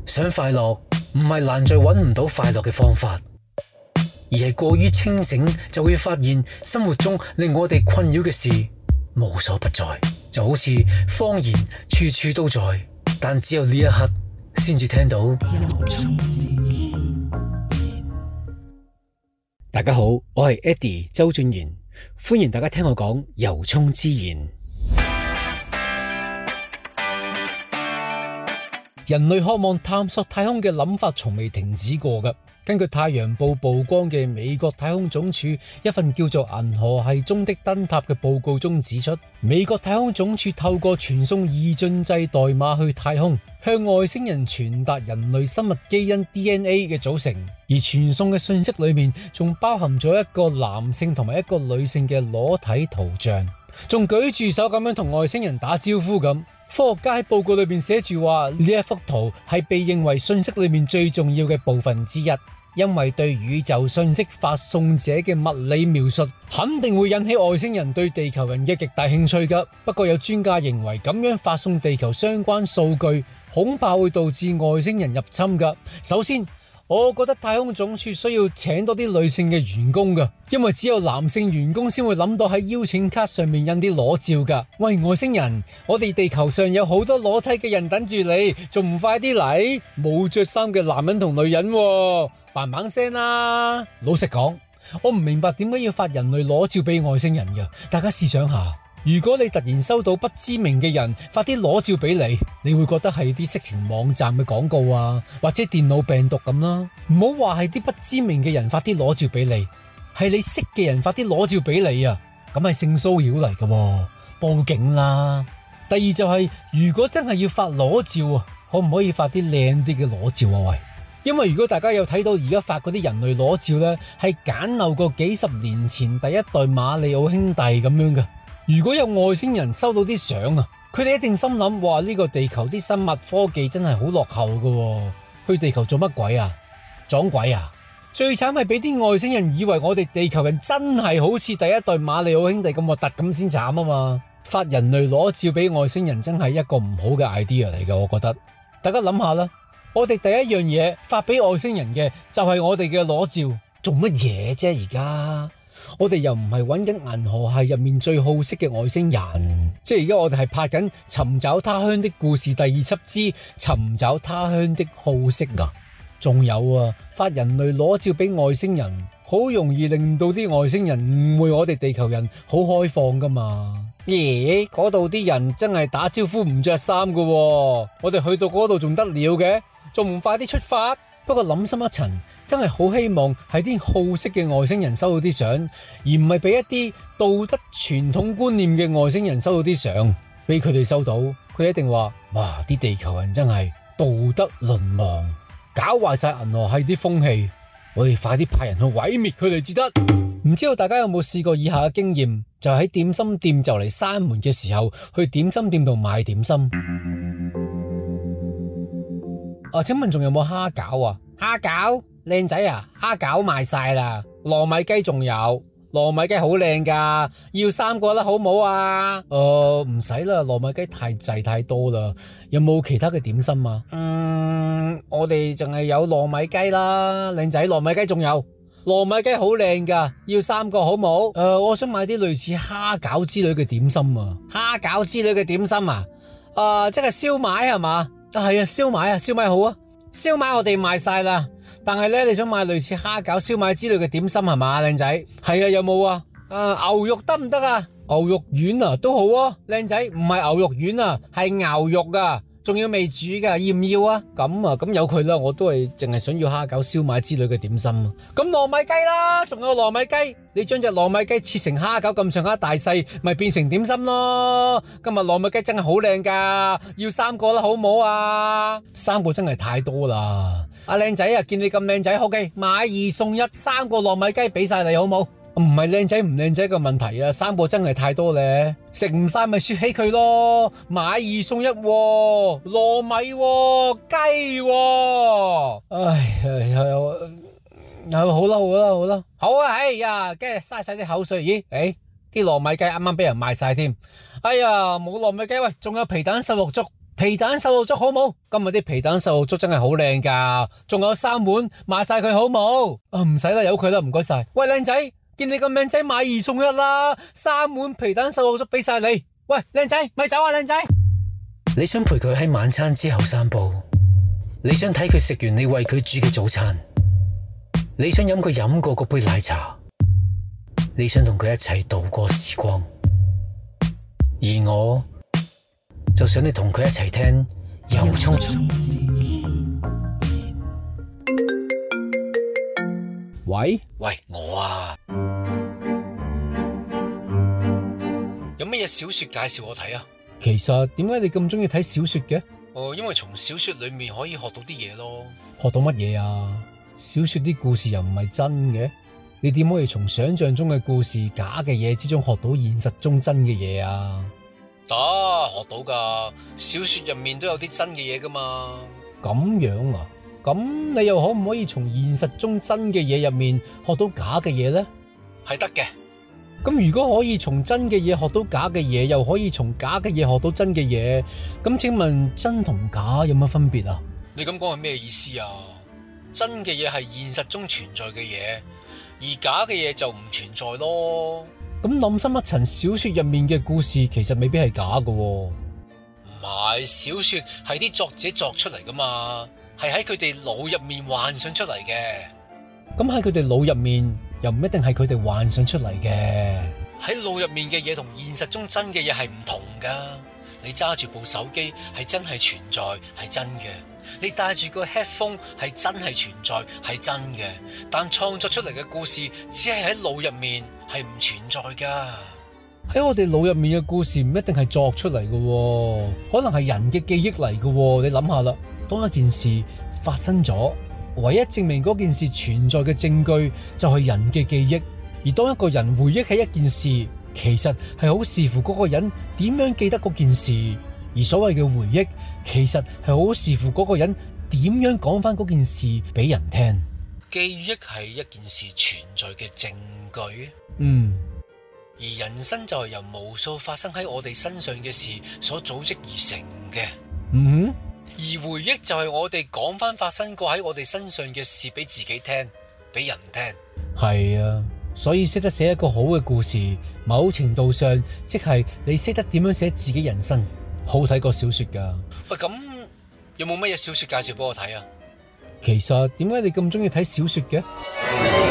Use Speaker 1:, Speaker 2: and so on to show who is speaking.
Speaker 1: 想快樂唔係難在揾唔到快樂嘅方法，而係過於清醒就會發現生活中令我哋困擾嘅事無所不在，就好似謊言處處都在，但只有呢一刻先至聽到。大家好，我係 Eddie 周俊賢，歡迎大家聽我講由衷之言。人類渴望探索太空嘅諗法從未停止過㗎。根據太陽報曝光嘅美國太空總署一份叫做《銀河系中的燈塔》嘅報告中指出，美國太空總署透過傳送二進制代碼去太空，向外星人傳達人類生物基因 DNA 嘅組成，而傳送嘅信息裏面仲包含咗一個男性同埋一個女性嘅裸體圖像，仲舉住手咁樣同外星人打招呼咁。科學家喺報告裏面寫住話，呢一幅圖係被認為信息裏面最重要嘅部分之一，因為對宇宙信息發送者嘅物理描述肯定會引起外星人對地球人嘅極大興趣㗎。不過有專家認為咁樣發送地球相關數據恐怕會導致外星人入侵㗎。首先，我覺得太空總署需要請多啲女性嘅員工㗎，因為只有男性員工先會諗到喺邀請卡上面印啲裸照㗎。喂，外星人，我哋地球上有好多裸體嘅人等住你，仲唔快啲嚟？冇着衫嘅男人同女人喎，嘭嘭聲啦！老實講，我唔明白點解要發人類裸照俾外星人㗎。大家試想下，如果你突然收到不知名嘅人發啲裸照俾你，你會覺得係啲色情網站嘅廣告啊，或者電腦病毒咁啦。唔好話係啲不知名嘅人發啲裸照俾你，係你識嘅人發啲裸照俾你啊，咁係性騷擾嚟㗎，報警啦。第二就係，如果真係要發裸照啊，可唔可以發啲靚啲嘅裸照啊？喂，因為如果大家有睇到而家發嗰啲人類裸照呢，係簡陋過幾十年前第一代馬里奧兄弟咁樣嘅。如果有外星人收到啲相啊，佢哋一定心諗：哇，呢個地球啲生物科技真係好落後㗎，去地球做乜鬼啊？撞鬼啊！最慘係俾啲外星人以為我哋地球人真係好似第一代馬里奧兄弟咁核突咁先慘啊嘛！發人類裸照俾外星人真係一個唔好嘅 idea 嚟嘅，我覺得。大家諗下啦，我哋第一樣嘢發俾外星人嘅就係我哋嘅裸照，做乜嘢啫？而家我哋又唔係揾緊銀河系入面最好色嘅外星人，即係而家我哋係拍緊《尋找他鄉的故事》第二輯之尋找他鄉的好色啊！仲有啊，發人類裸照俾外星人，好容易令到啲外星人誤會我哋地球人好開放噶嘛。咦，嗰度啲人真係打招呼唔着衫噶，我哋去到嗰度仲得了嘅，仲唔快啲出發？不過諗深一層，真係好希望係啲好色嘅外星人收到啲相，而唔係俾一啲道德傳統觀念嘅外星人收到啲相。俾佢哋收到，佢一定話：哇，啲地球人真係道德淪亡，搞壞晒銀河系啲風氣，我哋快啲派人去毀滅佢哋至得。唔知道大家有冇試過以下嘅經驗，就喺點心店就嚟閂門嘅時候，去點心店度買點心。請問仲有冇蝦餃啊？蝦餃靚仔啊，蝦餃賣晒啦。糯米雞仲有，糯米雞好靚噶，要3個啦，好唔好啊？唔使啦，糯米雞太滯太多啦。有冇其他嘅點心啊？我哋淨係有糯米雞啦，靚仔，糯米雞仲有，糯米雞好靚噶，要3個好唔好？我想買啲類似蝦餃之類嘅點心啊。蝦餃之類嘅點心啊？即係燒賣係嘛？係啊，燒賣啊，燒賣好啊，燒賣我哋賣晒啦。但係咧，你想買類似蝦餃、燒賣之類嘅點心係嘛，靚仔？係啊，有冇啊？牛肉得唔得啊？牛肉丸啊，都好啊，靚仔。唔係牛肉丸啊，係牛肉啊，仲要未煮噶，要唔要啊？咁有佢啦，我都係淨係想要蝦餃、燒賣之類嘅點心啊。咁糯米雞啦，仲有糯米雞，你將隻糯米雞切成蝦餃咁上下大細，咪變成點心咯。今日糯米雞真係好靚噶，要3個啦，好唔好啊？3個真係太多啦。阿靚仔啊，見你咁靚仔，OK，買2送1，3個糯米雞俾晒你好唔好？唔係靚仔唔靚仔嘅問題啊，3個真係太多咧，食唔晒咪雪起佢咯。買2送1，糯米雞，好啊，哎呀，跟住嘥晒啲口水，咦，啲糯米雞啱啱俾人賣晒添，哎呀，冇糯米雞，喂，仲有皮蛋瘦肉粥。 皮蛋瘦肉粥好冇？今日啲皮蛋瘦肉粥真係好靚噶，仲有3碗，買晒佢好冇？唔使啦，由佢啦，唔該晒。喂，靚仔，見你咁靚仔，買2送1啦，3碗皮蛋瘦肉粥俾晒你。喂，靚仔，咪走啊，靚仔！你想陪佢喺晚餐之後散步，你想睇佢食完你為佢煮嘅早餐，你想飲佢飲過嗰杯奶茶，你想同佢一齊度過時光，而我就想你同佢一齊聽由衷。喂，我啊，有乜嘢小說介紹我睇啊？其實點解你咁中意睇小說嘅？因為從小說裏面可以學到啲嘢咯。學到乜嘢啊？小說啲故事又唔係真嘅，你點可以從想象中嘅故事、假嘅嘢之中學到現實中真嘅嘢啊？得，學到噶，小說入面都有啲真嘅嘢噶嘛。咁樣啊？咁你又可唔可以從現實中真嘅嘢入面學到假嘅嘢呢？係得嘅。咁如果可以從真嘅嘢學到假嘅嘢，又可以從假嘅嘢學到真嘅嘢，咁請問真同假有乜分別啊？你咁講係咩意思啊？真嘅嘢係現實中存在嘅嘢，而假嘅嘢就唔存在咯。咁諗深一層，小說入面嘅故事其實未必係假㗎喎。唔係，小說係啲作者作出嚟噶嘛，係喺佢哋腦入面幻想出嚟嘅。咁喺佢哋腦入面又唔一定係佢哋幻想出嚟嘅。喺腦入面嘅嘢同現實中真嘅嘢係唔同噶。你揸住部手機係真係存在，係真嘅。你戴住個 headphone 係真係存在，係真嘅。但創作出嚟嘅故事只係喺腦入面，係唔存在噶。喺我哋腦入面嘅故事唔一定係作出嚟嘅，可能係人嘅記憶嚟嘅。你諗下啦，當一件事發生咗，唯一證明嗰件事存在嘅證據就係人嘅記憶。而當一個人回憶起一件事，其實係好視乎嗰個人點樣記得嗰件事。而所謂嘅回憶，其實係好視乎嗰個人點樣講翻嗰件事俾人聽。記憶係一件事存在嘅證據。而人生就係由無數發生喺我哋身上嘅事所組織而成嘅。而回憶就係我哋講翻發生過喺我哋身上嘅事俾自己聽，俾人聽。係啊，所以識得寫一個好嘅故事，某程度上即係你識得點樣寫自己人生，好睇過小說噶。喂，咁有冇乜嘢小說介紹俾我睇啊？其實點解你咁中意睇小說嘅？